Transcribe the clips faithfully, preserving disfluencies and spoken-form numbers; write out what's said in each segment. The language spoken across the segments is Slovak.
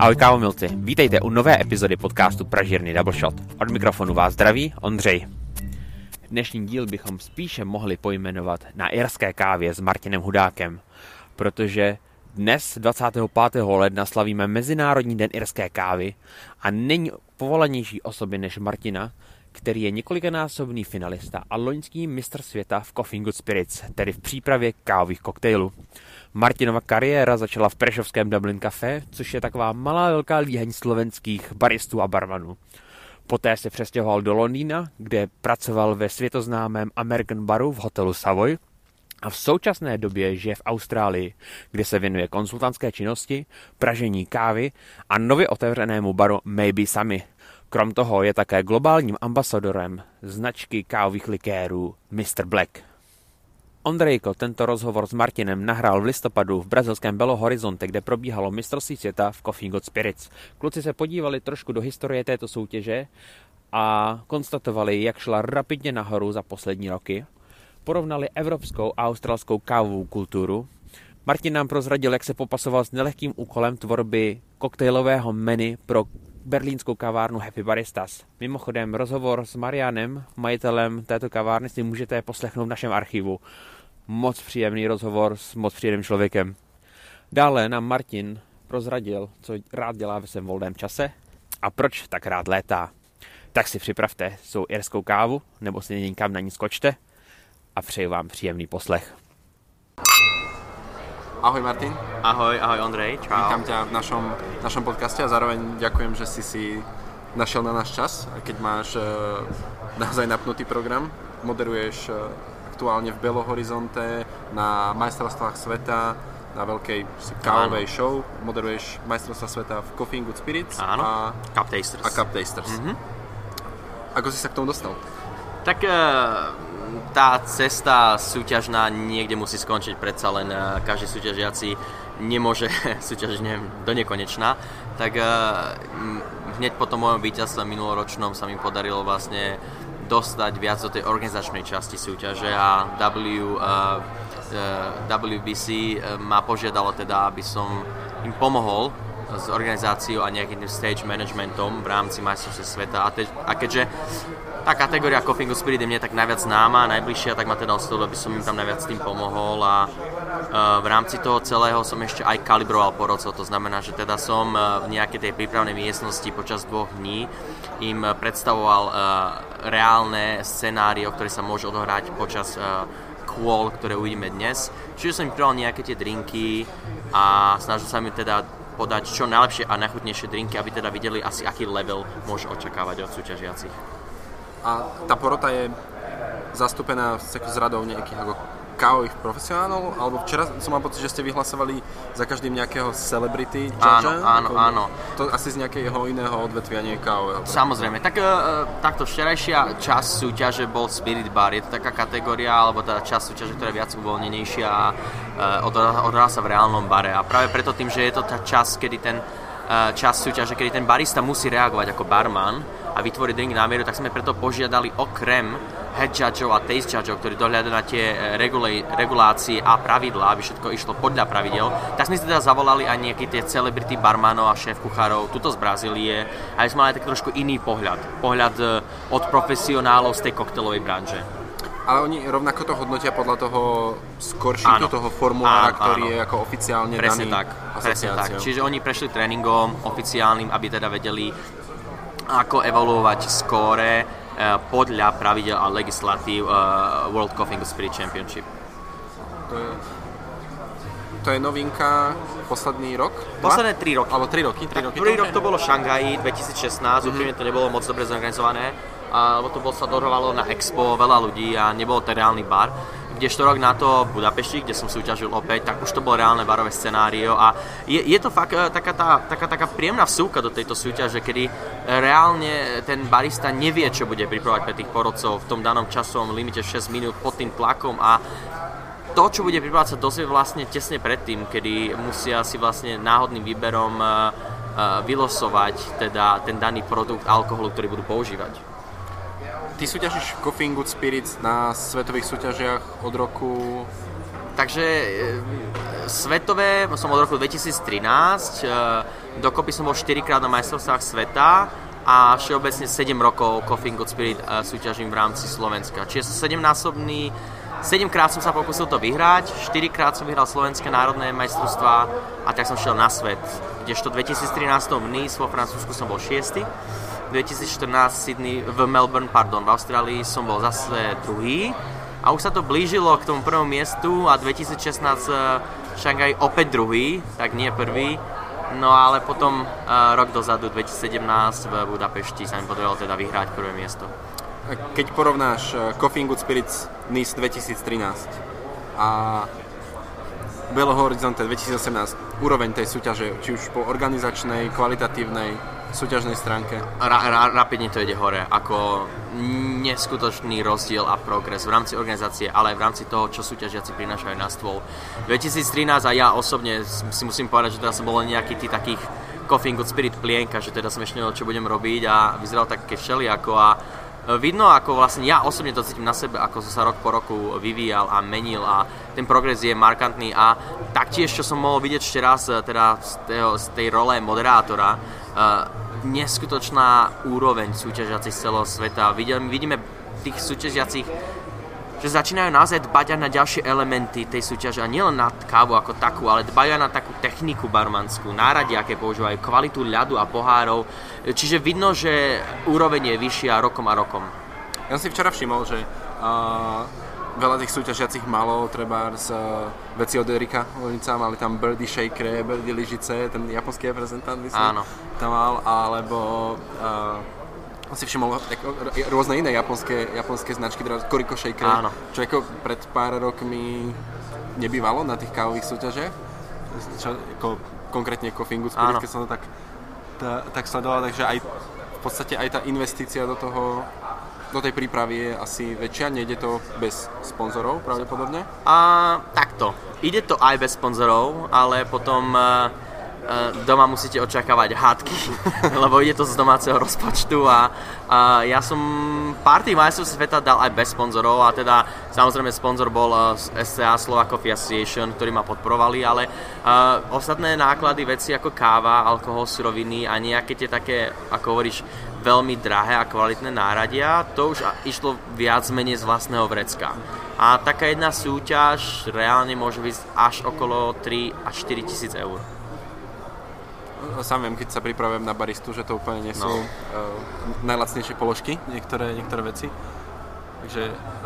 Ahoj kávomilci, vítejte u nové epizody podcastu Pražírny Double Shot. Od mikrofonu vás zdraví Ondřej. Dnešní díl bychom spíše mohli pojmenovat Na irské kávě s Martinem Hudákem, protože dnes dvacátého pátého ledna slavíme Mezinárodní den irské kávy a není povolanější osoby než Martina, který je několikanásobný finalista a loňský mistr světa v Coffee Good Spirits, tedy v přípravě kávových koktejlů. Martinova kariéra začala v prešovském Dublin Café, což je taková malá velká líheň slovenských baristů a barmanů. Poté se přestěhoval do Londýna, kde pracoval ve světoznámém American Baru v hotelu Savoy a v současné době žije v Austrálii, kde se věnuje konzultantské činnosti, pražení kávy a nově otevřenému baru Maybe Sami. Krom toho je také globálním ambasadorem značky kávových likérů mister Black. Ondrejko tento rozhovor s Martinem nahrál v listopadu v brazilském Belo Horizonte, kde probíhalo mistrovství světa v Coffee Good Spirits. Kluci se podívali trošku do historie této soutěže a konstatovali, jak šla rapidně nahoru za poslední roky. Porovnali evropskou a australskou kávovou kulturu. Martin nám prozradil, jak se popasoval s nelehkým úkolem tvorby koktejlového menu pro berlínskou kavárnu Happy Baristas. Mimochodem, rozhovor s Marianem, majitelem této kavárny, si můžete poslechnout v našem archivu. Moc příjemný rozhovor s moc příjemným člověkem. Dále nám Martin prozradil, co rád dělá ve svém volném čase a proč tak rád létá. Tak si připravte svou irskou kávu, nebo si někam na ní skočte a přeji vám příjemný poslech. Ahoj Martin. Ahoj, ahoj Ondrej, čau. Vítam ťa v našom, našom podcaste a zároveň ďakujem, že si si našiel na náš čas, keď máš uh, naozaj napnutý program. Moderuješ uh, aktuálne v Belo Horizonte na majstrovstvách sveta, na veľkej kávovej show. Moderuješ majstrovstvá sveta v Coffee Good Spirits. Áno, a Cup Tasters. A Cup Tasters. Mm-hmm. Ako si sa k tomu dostal? Tak uh... tá cesta súťažná niekde musí skončiť, predsa len každý súťažiaci nemôže súťažiť neviem, do nekonečna. Tak hneď po tom mojom víťazstve minuloročnom sa mi podarilo vlastne dostať viac do tej organizačnej časti súťaže a W, W B C ma požiadalo teda, aby som im pomohol s organizáciou a nejakým stage managementom v rámci majstrovstiev sveta. A, te, a keďže tá kategória Coffee Good Spirit je mne tak najviac známa, najbližšia, tak ma teda oslovilo, aby som im tam najviac tým pomohol a uh, v rámci toho celého som ešte aj kalibroval porodcov, to znamená, že teda som uh, v nejakej tej prípravnej miestnosti počas dvoch dní im predstavoval uh, reálne scenário, ktoré sa môže odohrať počas uh, kôl, ktoré uvidíme dnes. Čiže som im pripravil nejaké tie drinky a snažil sa mi teda podať čo najlepšie a najchutnejšie drinky, aby teda videli asi aký level môže očakávať od súťažiacich. A tá porota je zastúpená s radou nejakých ako kávových profesionálov? Alebo včera som mal pocit, že ste vyhlasovali za každým nejakého celebrity judge? Áno, áno, ako, áno. To asi z nejakého iného odvetvia, nie kávového. Samozrejme. Tak e, takto včerajšia časť súťaže bol Spirit Bar. Je to taká kategória, alebo teda časť súťaže, ktorá je viac uvoľnenejšia a e, odhrá sa v reálnom bare. A práve preto tým, že je to tá časť, kedy ten čas súťaže, kedy ten barista musí reagovať ako barman a vytvoriť drink na mieru, tak sme preto požiadali okrem head judgeov a taste judgeov, ktorí dohľadajú na tie regula- regulácie a pravidlá, aby všetko išlo podľa pravidel, tak sme si teda zavolali aj nejaké tie celebrity barmanov a šéf-kuchárov tuto z Brazílie, aby sme mali tak trošku iný pohľad. Pohľad od profesionálov z tej koktelovej branže. Ale oni rovnako to hodnotia podľa toho skoršíku, toho formulára, áno, ktorý áno. je ako oficiálne presne daný tak, presne tak. Čiže oni prešli tréningom oficiálnym, aby teda vedeli, ako evaluovať skóre eh, podľa pravidel a legislatív eh, World Coffee Good Spirit Championship. To je, to je novinka posledný rok? Posledné tri roky. Alebo tri roky? Tri roky Prvý rok to bolo v Šangaji dvetisícšestnásť, mm-hmm. Úprimne to nebolo moc dobre zorganizované, lebo to bolo, sa dohrávalo na Expo veľa ľudí a nebol to reálny bar. Kdežto rok na to v Budapešti, kde som súťažil opäť, tak už to bolo reálne barové scenário a je, je to fakt taká, tá, taká, taká príjemná vsúka do tejto súťaže, kedy reálne ten barista nevie, čo bude pripravovať pre tých porodcov v tom danom časovom limite šesť minút pod tým tlakom a to, čo bude pripravovať, sa dozvie vlastne tesne predtým, kedy musia si vlastne náhodným výberom uh, uh, vylosovať teda ten daný produkt alkoholu, ktorý budú používať. Ty súťažíš Coffee Good Spirits na svetových súťažiach od roku... Takže svetové som od roku dvetisíctrinásť, dokopy som bol štyrikrát na majstrovstvách sveta a všeobecne sedem rokov Coffee and Good Spirit súťažím v rámci Slovenska. Čiže som sedemnásobný, sedemkrát som sa pokúsil to vyhrať, štyrikrát som vyhral slovenské národné majstrovstvá a tak som šiel na svet. Kdežto v dvetisíctrinásť v Nice vo Francúzsku som bol šiesty, dvetisícštrnásť Sydney, v Melbourne, pardon, v Austrálii som bol zase druhý. A už sa to blížilo k tomu prvému miestu a dvetisícšestnásť v Šangaji opäť druhý, tak nie prvý. No ale potom uh, rok dozadu, dvetisícsedemnásť v Budapešti sa mi podarilo teda vyhrať prvé miesto. Keď porovnáš Coffee and Good Spirits Nice dvetisíctrinásť a Belo Horizonte dvetisícosemnásť, úroveň tej súťaže, či už po organizačnej, kvalitatívnej, súťažnej stránke? Ra, ra, rapidne to ide hore, ako neskutočný rozdiel a progres v rámci organizácie, ale aj v rámci toho, čo súťažiaci prinášajú na stôl. dvetisíctrinásť a ja osobne si musím povedať, že teda som bol nejaký tý takých Coffee and Good Spirit plienka, že teda som ešte nevedel, čo budem robiť a vyzeral tak všelijako a vidno, ako vlastne ja osobne to cítim na sebe, ako som sa rok po roku vyvíjal a menil a ten progres je markantný a taktiež, čo som mohol vidieť ešte raz teda z, tého, z tej role moderátora, uh, neskutočná úroveň súťažiacich z celého sveta. Vidíme, vidíme tých súťažiacich, že začínajú naozaj dbať aj na ďalšie elementy tej súťaže a nielen na kávu ako takú, ale dbajú aj na takú techniku barmanskú, náradie, aké používajú, kvalitu ľadu a pohárov. Čiže vidno, že úroveň je vyššia rokom a rokom. Ja som si včera všimol, že uh, veľa tých súťažiacich malo treba z uh, veci od Erika Lonica, mali tam birdie shakere, birdie lyžice, ten japonský reprezentant, myslím, áno, tam mal, alebo uh, si všimol rôzne iné japonské, japonské značky, Koriko Shaker, áno, čo ako pred pár rokmi nebývalo na tých kávových súťažiach, čo, ako, konkrétne Coffee and Good Spirit, keď som to tak, tá, tak sledoval, takže aj v podstate aj tá investícia do toho, do tej prípravy je asi väčšia, nejde to bez sponzorov pravdepodobne? A takto, ide to aj bez sponzorov, ale potom doma musíte očakávať hádky, lebo ide to z domáceho rozpočtu a, a ja som pár tých majstrov sveta dal aj bez sponzorov a teda samozrejme sponzor bol es cé á Slovak Coffee Association, ktorí ma podporovali, ale uh, ostatné náklady, veci ako káva, alkohol, suroviny a nejaké tie také, ako hovoríš, veľmi drahé a kvalitné náradia, to už išlo viac menej z vlastného vrecka. A taká jedna súťaž reálne môže byť až okolo tri až štyri tisíc eur. Sám viem, keď sa pripravujem na baristu, že to úplne nie sú no. uh, najlacnejšie položky, niektoré, niektoré veci. Takže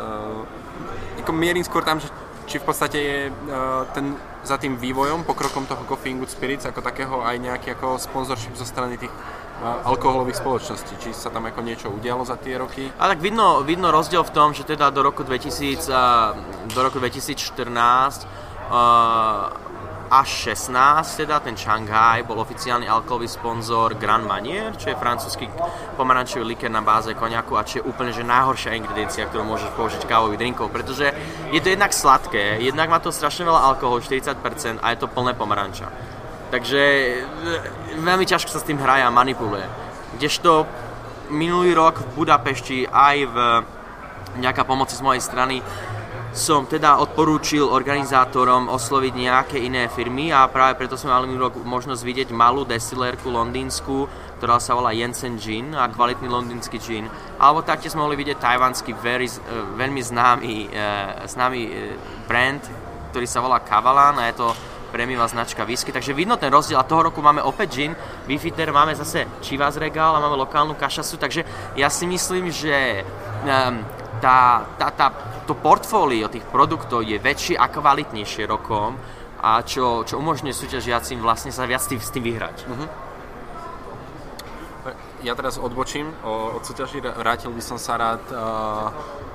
uh, ako mierim skôr tam, že či v podstate je uh, ten, za tým vývojom, pokrokom toho Coffee and Good Spirits ako takého aj nejaký ako sponsorship zo strany tých uh, alkoholových spoločností. Či sa tam ako niečo udialo za tie roky? A tak vidno, vidno rozdiel v tom, že teda do roku dvetisíc, uh, do roku dvetisícštrnásť uh, až šestnásť, teda ten Šanghaj bol oficiálny alkoholový sponzor Grand Marnier, čo je francúzsky pomarančový likér na báze koniaku a čo je úplne že najhoršia ingrediencia, ktorú môžeš použiť kávových drinkov, pretože je to jednak sladké, jednak má to strašne veľa alkoholu, štyridsať percent a je to plné pomaranča. Takže veľmi ťažko sa s tým hraje a manipuluje. Kdežto minulý rok v Budapešti aj v nejaká pomoci z mojej strany som teda odporúčil organizátorom osloviť nejaké iné firmy a práve preto sme mali minulý rok možnosť vidieť malú destilérku londýnsku, ktorá sa volá Jensen Gin a kvalitný londýnsky gin. Alebo taktiež sme mohli vidieť tajvanský very, veľmi známy, známy brand, ktorý sa volá Kavalan a je to prémiová značka whisky. Takže vidno ten rozdiel a toho roku máme opäť gin, Beefeater, máme zase Chivas Regal a máme lokálnu kašasu, takže ja si myslím, že um, tá, tá, tá to portfólio tých produktov je väčšie a kvalitnejšie rokom a čo, čo umožňuje súťažiacim vlastne sa viac tým, s tým vyhrať. Uh-huh. Ja teraz odbočím od súťaží, vrátil by som sa rád uh,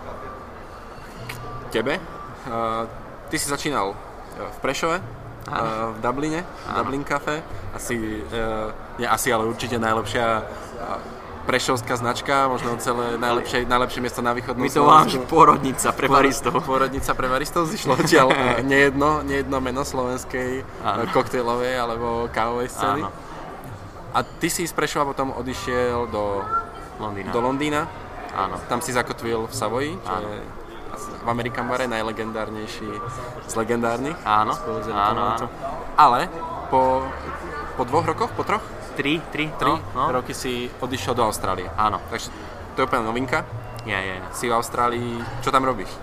k tebe. Uh, ty si začínal v Prešove, uh, v Dubline, v Dublin Cafe. Asi, uh, nie asi, ale určite najlepšia uh, prešovská značka, možno celé najlepšie, najlepšie miesto na východnom Slovensku. My to voláme, že pôrodnica pre baristov. Pôrodnica pre baristov, zišlo odtiaľ nejedno, nejedno meno slovenskej áno. koktejlovej alebo kávovej scény. Áno. A ty si z Prešova potom odišiel do Londýna. Do Londýna. Áno. Tam si zakotvil v Savoji, čo áno. je v American bare, najlegendárnejší z legendárnych. Áno, áno, áno. Ale po, po dvoch rokoch, po troch? Tri, tri, tri no, no. roky si odišiel do Austrálie. Áno. Takže to je úplne novinka. Je, je. Si v Austrálii, čo tam robíš?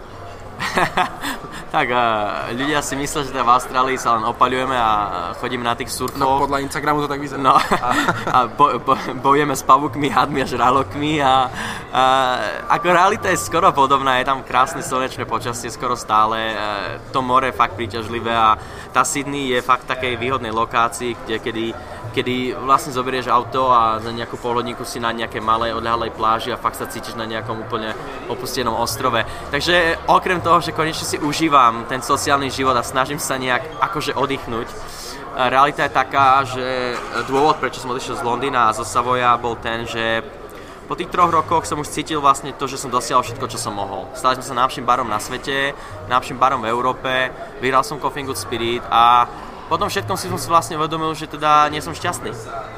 Tak uh, ľudia si myslia, že v Austrálii sa len opaľujeme a chodíme na tých surfoch. No podľa Instagramu to tak vyzerá. No a bo, bo, bojujeme s pavúkmi, hadmi a žralokmi a, a ako realita je skoro podobná, je tam krásne slnečné počasie skoro stále, to more je fakt príťažlivé a tá Sydney je fakt v takej výhodnej lokácii, kde kedy kedy vlastne zoberieš auto a za nejakú polhodníku si na nejaké malej odľahlej pláži a fakt sa cítiš na nejakom úplne opustenom ostrove. Takže okrem toho, že konečne si užívam ten sociálny život a snažím sa nejak akože oddychnúť, realita je taká, že dôvod, prečo som odišiel z Londýna a zo Savoya bol ten, že po tých troch rokoch som už cítil vlastne to, že som dosiahol všetko, čo som mohol. Stali sme sa najlepším barom na svete, najlepším barom v Európe, vyhral som Coffee and Good Spirit a potom všetkom si som si vlastne uvedomil, že teda nie som šťastný.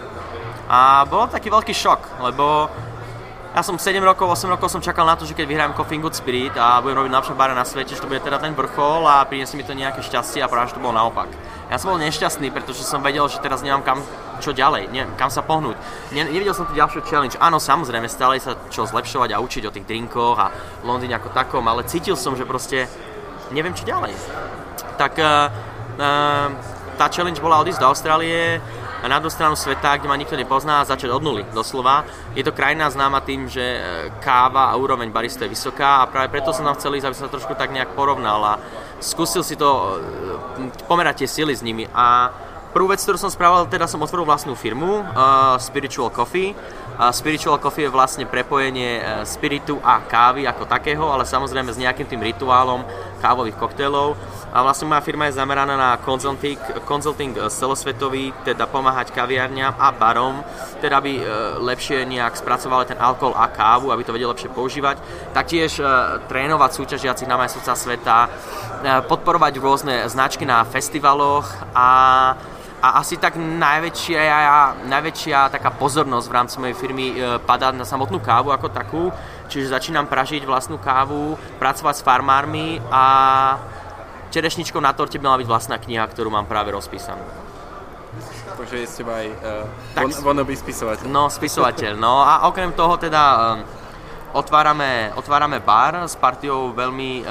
A bol taký veľký šok, lebo ja som sedem rokov, osem rokov som čakal na to, že keď vyhrajem Coffee and Good Spirit a budem robiť najlepšie bare na svete, že to bude teda ten vrchol a priniesie mi to nejaké šťastie a práve že to bolo naopak. Ja som bol nešťastný, pretože som vedel, že teraz nemám kam čo ďalej, neviem, kam sa pohnúť. Ne, nevidel som tu ďalšiu challenge. Áno, samozrejme, stále sa čo zlepšovať a učiť o tých drinkoch a Londýne ako takom, ale cítil som, že proste neviem čo ďalej. Tak uh, uh, tá challenge bola odísť do Austrálie na druhú stranu sveta, kde ma nikto nepozná a začať od nuly, doslova. Je to krajina známa tým, že káva a úroveň baristu je vysoká a práve preto som tam chcel ísť, aby som sa trošku tak nejak porovnal a skúsil si to pomerať tie sily s nimi. A prvú vec, ktorú som spravil, teda som otvoril vlastnú firmu, uh, Spiritual Coffee. Uh, Spiritual Coffee je vlastne prepojenie uh, spiritu a kávy ako takého, ale samozrejme s nejakým tým rituálom kávových koktélov. A vlastne moja firma je zameraná na consulting, consulting celosvetový, teda pomáhať kaviarniam a barom, teda aby lepšie nejak spracovali ten alkohol a kávu, aby to vedeli lepšie používať. Taktiež trénovať súťažiacich na majstrovstvá sveta, podporovať rôzne značky na festivaloch a A asi tak najväčšia, najväčšia taká pozornosť v rámci mojej firmy padá na samotnú kávu ako takú, čiže začínam pražiť vlastnú kávu, pracovať s farmármi a čerešničkou na torte by mala byť vlastná kniha, ktorú mám práve rozpísanú. Takže je z teba aj uh, wannabe spisovateľ. No, spisovateľ. No a okrem toho teda um, otvárame, otvárame bar s partiou veľmi uh,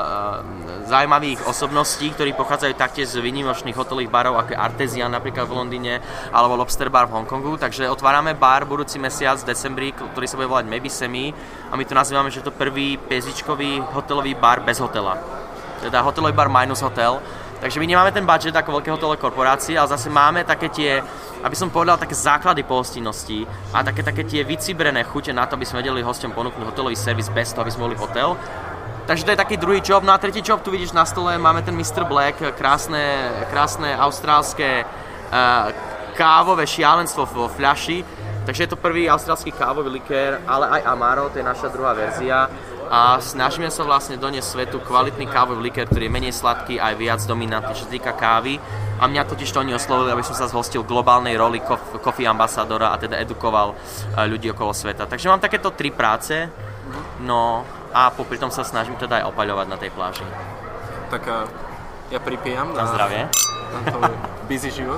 uh, zaujímavých osobností, ktorí pochádzajú taktiež z výnimočných hotelových barov, ako je Artesian napríklad v Londýne, alebo Lobster Bar v Hongkongu. Takže otvárame bar budúci mesiac v decembri, ktorý sa bude volať Maybe Semi a my to nazývame, že to prvý pezičkový hotelový bar bez hotela. Teda hotelový bar minus hotel. Takže my nemáme ten budget ako veľké hotelové korporácie, ale zase máme také tie, aby som povedal, také základy pohostinnosti a také, také tie vycibrené chute na to, aby sme vedeli hosťom ponúknuť hotelový servis bez toho, aby sme boli hotel. Takže to je taký druhý job. No a tretí job, tu vidíš na stole, máme ten mister Black, krásne, krásne austrálske uh, kávové šialenstvo vo fľaši. Takže je to prvý austrálsky kávový likér, ale aj Amaro, to je naša druhá verzia. A snažíme sa vlastne doniesť svetu kvalitný kávový likér, ktorý je menej sladký a aj viac dominantný, čo sa týka kávy. A mňa totiž to oni oslovili, aby som sa zhostil globálnej roli coffee ambasadora a teda edukoval ľudí okolo sveta. Takže mám takéto tri práce, no a popri tom sa snažím teda aj opaľovať na tej pláži. Tak ja pripijam na, na zdravie. Na tvoj busy život.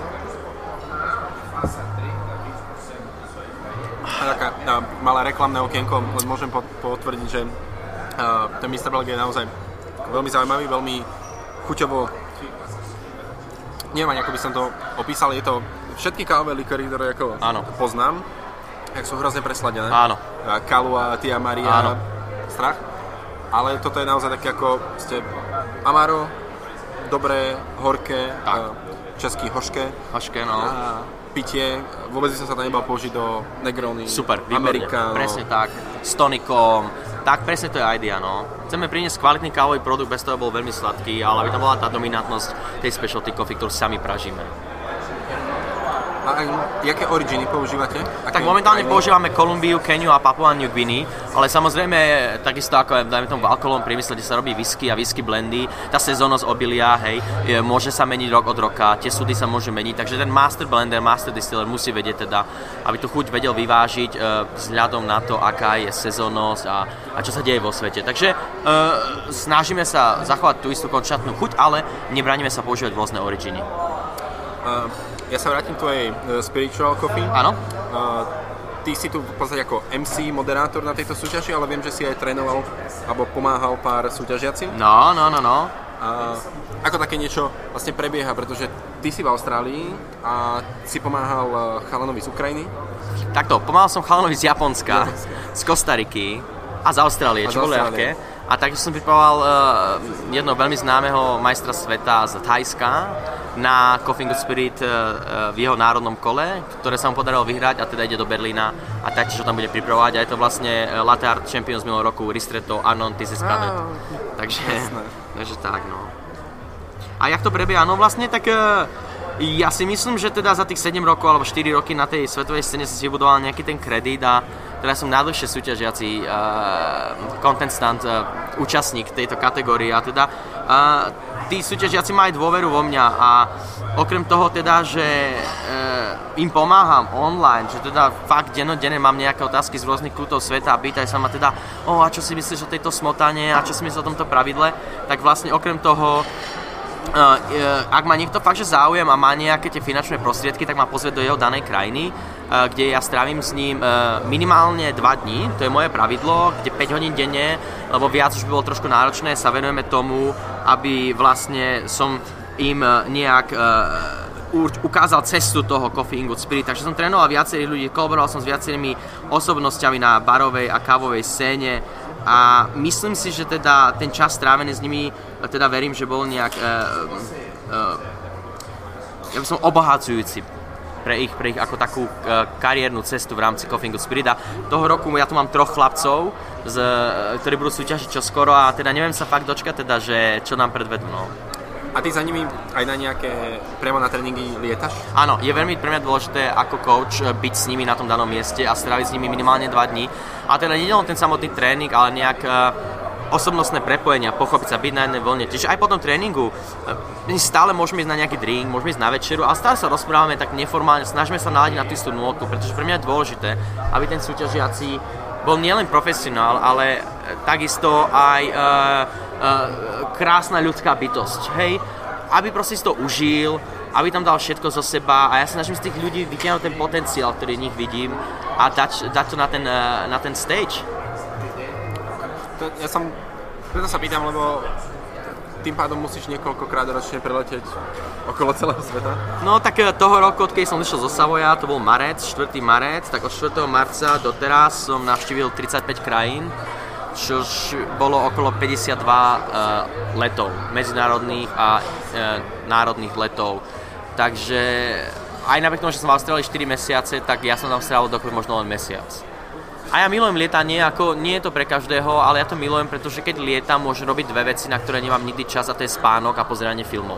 Taká malá reklamné okienko, len môžem potvrdiť, že Uh, ten mister Black je naozaj veľmi zaujímavý, veľmi chuťovo, neviem ani ako by som to opísal, je to všetky kávové likéry, ktoré ako Áno. poznám, jak sú hrozne presladené. Áno. Kahlua, Tia Maria, Áno. strach, ale toto je naozaj také ako ste Amaro, dobré, horké, uh, český hošké. Hošké, no. A pitie, vôbec by som sa tam nebal použiť do Negrony, super, Americano. Presne tak, s tonikom. Tak presne to je idea, no. Chceme priniesť kvalitný kávový produkt, bez toho bol veľmi sladký, ale aby tam bola tá dominantnosť tej specialty coffee, ktorú sami pražíme. A jaké originy používate? Aké tak momentálne krajiny? používame Kolumbiu, Keniu a Papua New Guinea, ale samozrejme takisto ako dajme tomu v alkoholovom priemysle, kde sa robí whisky a whisky blendy, tá sezónnosť obilia, hej, je, môže sa meniť rok od roka, tie súdy sa môžu meniť, takže ten master blender, master distiller musí vedieť teda, aby tú chuť vedel vyvážiť e, vzhľadom na to, aká je sezónnosť a, a čo sa deje vo svete. Takže e, snažíme sa zachovať tú istú konštantnú chuť, ale nebraníme sa používať rôzne originy. Uh, ja sa vrátim k tvojej uh, Spiritual Coffee. Áno. Uh, ty si tu v podstate ako em cé, moderátor na tejto súťaži, ale viem, že si aj trénoval alebo pomáhal pár súťažiacim. No, no, no, no. Uh, ako také niečo vlastne prebieha, pretože ty si v Austrálii a si pomáhal uh, chalanovi z Ukrajiny. Takto, pomáhal som chalanovi z Japonska, z Kostariky a z Austrálie, čo bolo ľahké. A taktiež som pripravoval uh, jedno veľmi známeho majstra sveta z Thajska na Coffee and Good Spirit uh, v jeho národnom kole, ktoré sa mu podarilo vyhrať a teda ide do Berlína a taktiež ho tam bude pripravovať. A je to vlastne Latte Art Champion z minulého roku, Ristretto, Anon, Tiziskanet. Takže, takže tak, no. A jak to prebieha? No vlastne tak uh, ja si myslím, že teda za tých sedem rokov alebo štyri roky na tej svetovej scéne som si vybudoval nejaký ten kredit a teda som najdlhšie súťažiaci uh, contestant, uh, účastník tejto kategórie a teda uh, tí súťažiaci majú dôveru vo mňa a okrem toho teda, že uh, im pomáham online, že teda fakt dennodenne mám nejaké otázky z rôznych kútov sveta a pýtajú sa ma teda o, a čo si myslíš o tejto smotane a čo si myslíš o tomto pravidle, tak vlastne okrem toho Uh, uh, ak má niekto fakt, že záujem a má nejaké tie finančné prostriedky, tak ma pozve do jeho danej krajiny, uh, kde ja strávim s ním uh, minimálne dva dní, to je moje pravidlo, kde päť hodín denne, lebo viac už by bolo trošku náročné, sa venujeme tomu, aby vlastne som im uh, nejak uh, ukázal cestu toho Coffee and Good Spirit, takže som trénoval viacerých ľudí, kolaboroval som s viacerými osobnostiami na barovej a kávovej scéne a myslím si, že teda ten čas strávený s nimi, teda verím, že bol nejak uh, uh, ja by som obohacujúci pre ich, pre ich ako takú uh, kariérnu cestu v rámci Coffee and Good Spirit a toho roku ja tu mám troch chlapcov, z, ktorí budú súťažiť čoskoro a teda neviem sa fakt dočkať teda, že čo nám predvedú, no. A ty za nimi aj na nejaké, priamo na tréningy lietaš? Áno, je veľmi pre mňa dôležité ako coach byť s nimi na tom danom mieste a stráviť s nimi minimálne dva dní. A teda nie len ten samotný tréning, ale nejak uh, osobnostné prepojenia, pochopiť sa, byť na jednej vlne. Čiže aj po tom tréningu uh, stále môžeme ísť na nejaký drink, môžeme ísť na večeru, ale stále sa rozprávame tak neformálne, snažíme sa naladiť na tú istú nôtu, pretože pre mňa je dôležité, aby ten súťažiaci bol nielen profesionál, ale takisto aj uh, uh, krásna ľudská bytosť, hej? Aby proste si to užil, aby tam dal všetko zo seba a ja sa snažím z tých ľudí vytiahnuť ten potenciál, ktorý v nich vidím a dať, dať to na ten, uh, na ten stage. To, ja som, preto sa pýtam, lebo tým pádom musíš niekoľkokrát ročne preletieť okolo celého sveta. No tak toho roku, odkedy som vyšiel zo Savoya, to bol marec, štvrtý marec, tak od štvrtého marca doteraz som navštívil tridsaťpäť krajín, čož bolo okolo päťdesiatdva uh, letov, medzinárodných a uh, národných letov. Takže aj napriek tomu, že som v Austrálii štyri mesiace, tak ja som tam strávil dokopy možno len mesiac. A ja milujem lietanie, ako nie je to pre každého, ale ja to milujem, pretože keď lietam, môžem robiť dve veci, na ktoré nemám nikdy čas, a to je spánok a pozeranie filmov.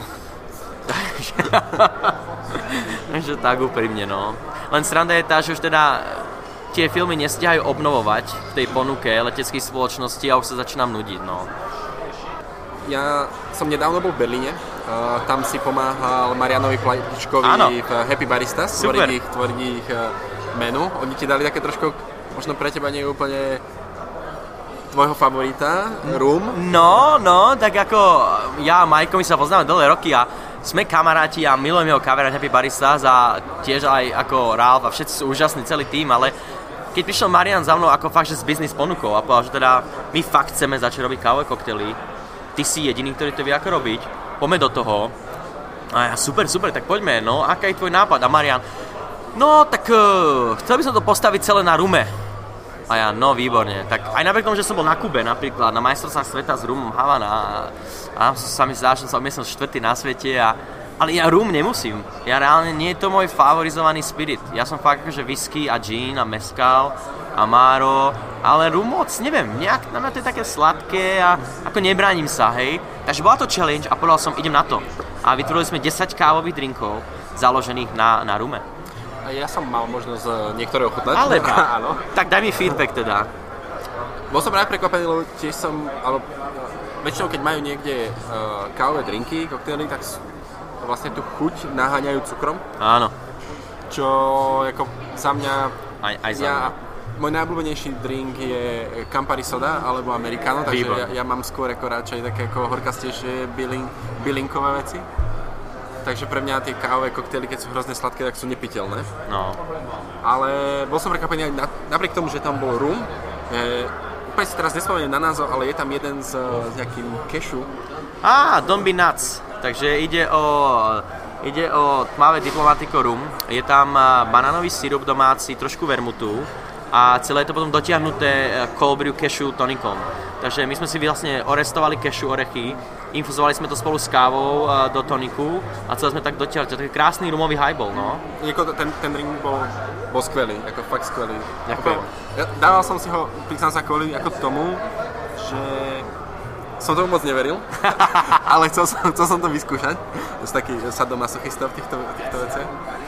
Takže tak úprimne, no. Len sranda je tá, že už teda tie filmy nestihajú obnovovať v tej ponuke leteckých spoločností a už sa začínam nudiť, no. Ja som nedávno bol v Berlíne, uh, tam si pomáhal Marianovi Platičkovi v Happy Baristas, tvoriť ich, tvoriť ich uh, menu. Oni ti dali také trošku, možno pre teba nie je úplne tvojho favorita, rum. No, no, tak ako ja a Majko, my sa poznáme dlhé roky a sme kamaráti a milujem jeho kamarát Happy Baristas a tiež aj ako Ralf a všetci sú úžasní, celý tým, ale keď prišiel Marian za mnou ako fakt, že z business ponukou a povedal, že teda my fakt chceme začať robiť kávové koktely, ty si jediný, ktorý to vie ako robiť, poďme do toho. A ja, super, super, tak poďme, no, aká je tvoj nápad? A Marian, no, tak uh, chcel by som to postaviť celé na rume. A ja, no, výborne. Tak aj napriek tomu, že som bol na Kube napríklad, na majstrovstvách sveta s rumom Havana a, a sa mi zdá, že som som štvrtý na svete, a, ale ja rum nemusím. Ja reálne, nie je to môj favorizovaný spirit. Ja som fakt akože whisky a gin a mezcal a Amaro, ale rum moc, neviem, nejak na mňa to je také sladké a ako nebránim sa, hej. Takže bola to challenge a povedal som, idem na to. A vytvorili sme desať kávových drinkov, založených na, na rume. Ja som mal možnosť niektoré ochutnať. Ale áno. Tak daj mi feedback teda. Bol som práve prekvapený, lebo tiež som, ale väčšinou keď majú niekde uh, kávové drinky, koktejly, tak vlastne tú chuť naháňajú cukrom. Áno. Čo ako za mňa... Aj, aj za ja, mňa. Môj najobľúbenejší drink je Campari soda alebo Americano, takže ja, ja mám skôr ako radšej také ako horkastejšie bylin, bylinkové veci. Takže pre mňa tie kávové koktejly, keď sú hrozne sladké, tak sú nepiteľné. No. Ale bol som prekvapený aj na, napriek tomu, že tam bol rum. E, úplne si teraz nespomeniem na názov, ale je tam jeden s, s nejakým kešu. Á, Don't Be Nuts. Takže ide o, ide o tmavé diplomatiko rum. Je tam banánový sirup domáci, trošku vermutu. A celé je to potom dotiahnuté cold brew cashew tonikom. Takže my sme si vlastne orestovali cashew orechy, infuzovali sme to spolu s kávou do toniku a celé sme tak dotiahli. To je taký krásny rumový highball, no. Ten, ten drink bol, bol skvelý, ako fakt skvelý. Ďakujem. Ja dával som si ho, priznám sa kvôli ako tomu, že som tomu moc neveril, ale chcel som, chcel som to vyskúšať. To sú taký sadomasochista v týchto, týchto veciach.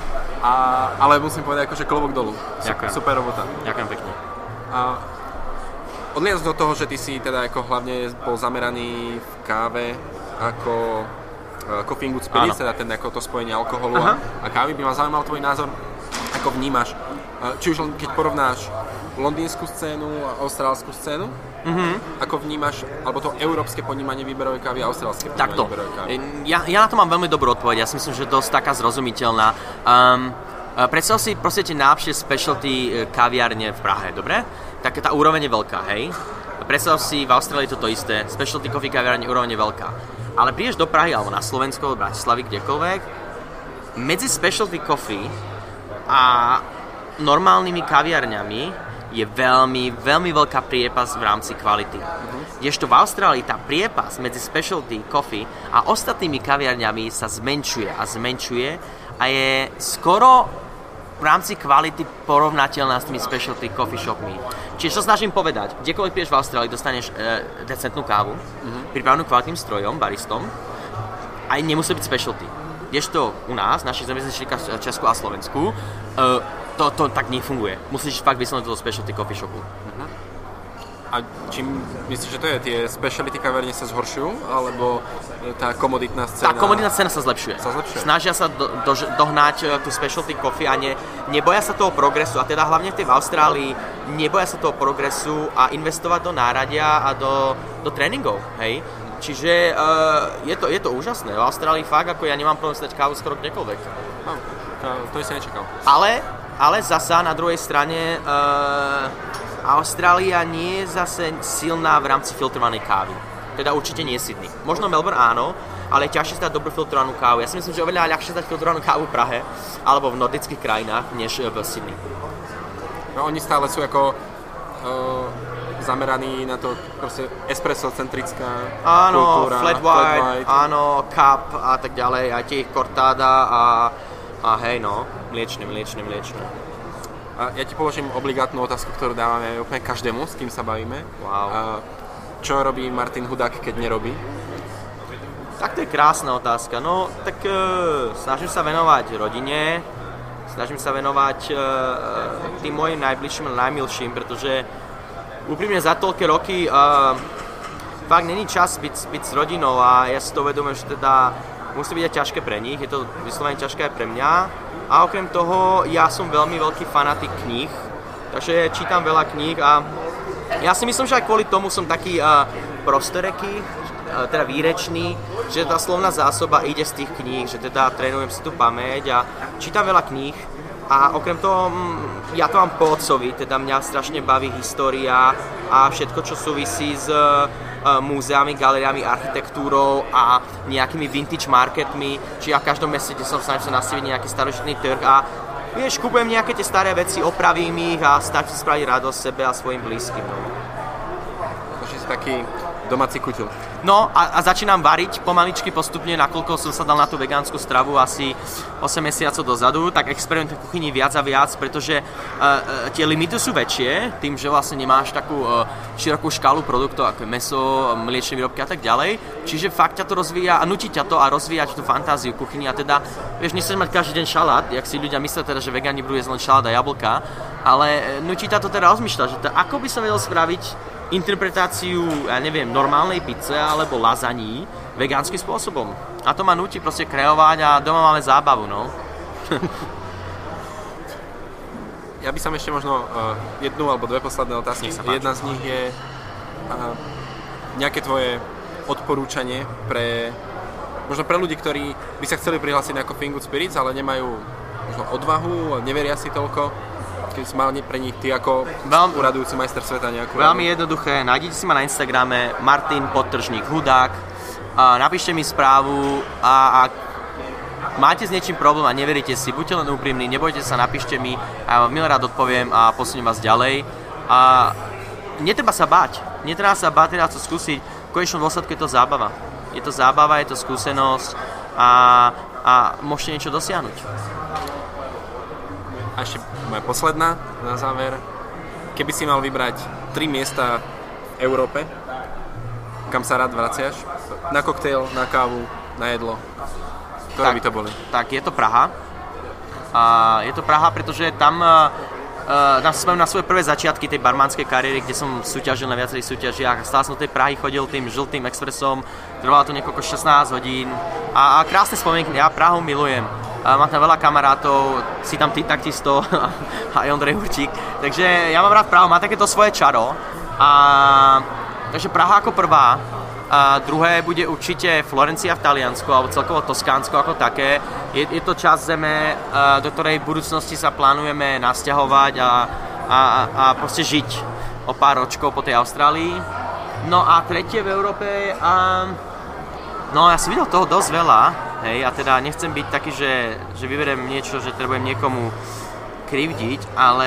A, ale musím povedať, akože klobok dolu. Ďakujem. Super robota. Ďakujem pekne. A odliadnúť do toho, že ty si teda ako hlavne bol zameraný v káve ako uh, coffee and good spirits, teda ten, ako to spojenie alkoholu a, a kávy, by ma zaujímal tvoj názor, ako vnímaš, uh, či už len keď porovnáš londýnsku scénu a austrálsku scénu, mm-hmm. ako vnímaš, alebo to európske ponímanie výberovej kávy a austrálske ponímanie Takto. výberovej kávy? Ja, ja na to mám veľmi dobrú odpoveď, ja si myslím, že dosť taká zrozumiteľná. Um, predstav si proste tie najlepšie specialty kaviárne v Prahe, dobre? Tak tá úroveň je veľká, hej? Predstav si, v Austrálii to to isté, specialty coffee kaviárne úroveň je veľká. Ale prídeš do Prahy alebo na Slovensko, do Bratislavy, kdekoľvek, medzi specialty coffee a normálnymi kaviarňami je veľmi, veľmi veľká priepas v rámci kvality. Uh-huh. Kdežto v Austrálii tá priepas medzi specialty coffee a ostatnými kaviarňami sa zmenšuje a zmenšuje a je skoro v rámci kvality porovnateľná s tými specialty coffee shopmi. Čiže čo snažím povedať, kdekoľvek piješ v Austrálii, dostaneš e, decentnú kávu, uh-huh. pripravenú kvalitným strojom, baristom, aj nemusí byť specialty. Kdežto u nás, našich zamestnancích v Česku a Slovensku, e, To, to tak nefunguje. Musíš fakt vyslovať do specialty coffee shopu. Uh-huh. A čím myslíš, že to je? Tie specialty kaverne sa zhoršujú? Alebo tá komoditná scéna? Tá komoditná scéna sa zlepšuje. Sa zlepšuje. Snažia sa do, do, dohnať tú specialty coffee a ne, neboja sa toho progresu. A teda hlavne v tej v Austrálii neboja sa toho progresu a investovať do náradia a do, do tréningov. Hej? Čiže uh, je, to, je to úžasné. V Austrálii fakt, ako ja nemám problém stať kávu skoro kdekoľvek. No, to, to si nečakal. Ale Ale zasa na druhej strane uh, Austrália nie je zase silná v rámci filtrovanej kávy. Teda určite nie Sydney. Možno Melbourne áno, ale je ťažšie stať dobrú filtrovanú kávu. Ja si myslím, že oveľa ľahšie stať filtrovanú kávu v Prahe alebo v nordických krajinách, než v Sydney. No, oni stále sú ako uh, zameraní na to proste espresso-centrická áno, kultúra. Flat white, flat white, áno, cup a tak ďalej, aj tie ich cortada a A hej, no, mliečne, mliečne, mliečne. A ja ti položím obligátnu otázku, ktorú dávame úplne každému, s kým sa bavíme. Wow. A čo robí Martin Hudák, keď nerobí? Tak to je krásna otázka. No, tak e, snažím sa venovať rodine, snažím sa venovať e, tým mojim najbližším a najmilším, pretože úprimne za toľké roky e, fakt není čas byť, byť s rodinou a ja si to uvedomujem, že teda musí byť aj ťažké pre nich, je to vyslovene ťažké aj pre mňa. A okrem toho, ja som veľmi veľký fanatik kníh, takže čítam veľa kníh a ja si myslím, že aj kvôli tomu som taký uh, prostoreký, uh, teda výrečný, že tá slovná zásoba ide z tých kníh, že teda trénujem si tú pamäť a čítam veľa kníh. A okrem toho, ja to mám po otcovi, teda mňa strašne baví história a všetko, čo súvisí s múzeami, galériami, architektúrou a nejakými vintage marketmi. Čiže ja v každom meste, kde som snažil sa nastaviť nejaký starožitný trh a vieš, kúpujem nejaké tie staré veci, opravím ich a snažím sa spraviť radosť sebe a svojim blízkym. No. že si taký domáci kutil. No a, a začínam variť pomaličky postupne, nakoľko som sa dal na tú vegánsku stravu asi osem mesiacov dozadu, tak experimentujem v kuchyni viac a viac, pretože uh, uh, tie limity sú väčšie, tým, že vlastne nemáš takú uh, širokú škálu produktov, ako je mäso, mliečne výrobky a tak ďalej. Čiže fakt ťa to rozvíja a nutí ťa to a rozvíjať tú fantáziu kuchyni a teda, vieš, nechceš mať každý deň šalát, jak si ľudia myslia teda, že vegáni budú jesť len šalát a jablka, ale nutí ťa to teda rozmýšľať, že to, ako by som vedel spraviť interpretáciu, ja neviem, normálnej pizze alebo lazaní vegánskym spôsobom. A to ma nutí proste kreovať a doma máme zábavu, no. Ja by som ešte možno uh, jednu alebo dve posledné otázky. Jedna z nich je uh, nejaké tvoje odporúčanie pre možno pre ľudí, ktorí by sa chceli prihlásiť na Coffee and Good Spirits, ale nemajú možno odvahu, neveria si toľko. Keď si mal pre nich ty ako Veľmi, uradujúci majster sveta nejakú... Veľmi jednoduché, nájdete si ma na Instagrame Martin podtržník Hudák, a napíšte mi správu a ak máte s niečím problém a neveríte si, buďte len úprimní, nebojte sa, napíšte mi a ja vám milé rád odpoviem a posuniem vás ďalej. A netreba sa báť, netreba sa báť, teda to skúsiť, v konečnom dôsledku je to zábava. Je to zábava, je to skúsenosť a, a môžete niečo dosiahnuť. A ešte moja posledná na záver. Keby si mal vybrať tri miesta v Európe, kam sa rád vraciaš? Na koktejl, na kávu, na jedlo. Ktoré tak, by to boli? Tak je to Praha. A je to Praha, pretože tam uh, uh, spomínam na svoje prvé začiatky tej barmanskej kariéry, kde som súťažil na viacerých súťažiach. Stále som do tej Prahy chodil tým žltým expresom. Trvalo to niekoľko šestnásť hodín. A, a krásne spomienky, ja Prahu milujem. Uh, mám tam veľa kamarátov, si tam ty takisto a aj Ondrej Hurčík. Takže ja mám rád Prahu, má takéto svoje čaro. A, takže Praha ako prvá. A druhé bude určite Florencia v Taliansku, alebo celkovo Toskánsko ako také. Je, je to časť zeme, uh, do ktorej v budúcnosti sa plánujeme nasťahovať a, a, a proste žiť o pár ročkov po tej Austrálii. No a tretie v Európe... Um, No ja som videl toho dosť veľa, hej, a teda nechcem byť taký, že, že vyberiem niečo, že trebujem niekomu krivdiť, ale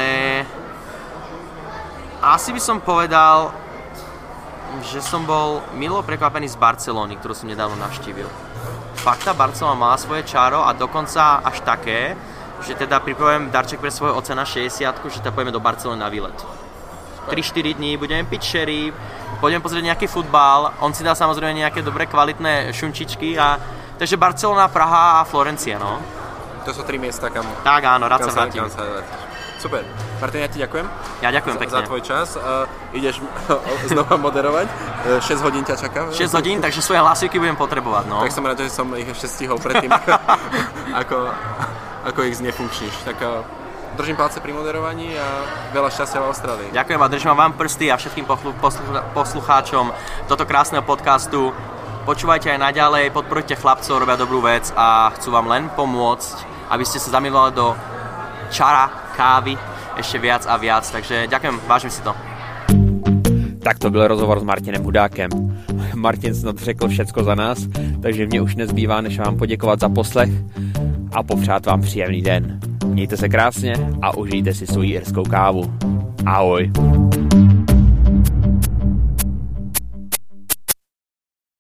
asi by som povedal, že som bol milo prekvapený z Barcelony, ktorú som nedávno navštívil. Fakt tá Barcelona mala svoje čaro a dokonca až také, že teda pripravujem darček pre svojho oca na šesťdesiatku, že teda pôjdeme do Barcelony na výlet. tri štyri dní, budeme piť sherry, pôjdeme pozrieť nejaký futbal, on si dá samozrejme nejaké dobré kvalitné šunčičky a takže Barcelona, Praha a Florencia, no. To sú tri miesta, kam... Tak áno, rád sa vrátim. Super. Martin, ja ti ďakujem. Ja ďakujem za, pekne. Za tvoj čas. Uh, ideš znova moderovať. Uh, šesť hodín ťa čaká. šesť hodín, takže svoje hlasivky budem potrebovať, no. Tak som rád, že som ich ešte stihol predtým, ako, ako ich znefunkčníš. Tak uh, držím palce pri moderovaní a veľa šťastia v Austrálii. Ďakujem a držím vám prsty a všetkým poslucháčom tohto krásneho podcastu. Počúvajte aj naďalej, podporujte chlapcov, robia dobrú vec a chcú vám len pomôcť, aby ste sa zamilovali do čara kávy ešte viac a viac. Takže ďakujem, vážim si to. Tak to byl rozhovor s Martinem Hudákem. Martin snad řekl všecko za nás, takže mě už nezbývá, než vám poděkovat za poslech a popřát vám příjemný den. Mějte se krásně a užijte si svoji irskou kávu. Ahoj.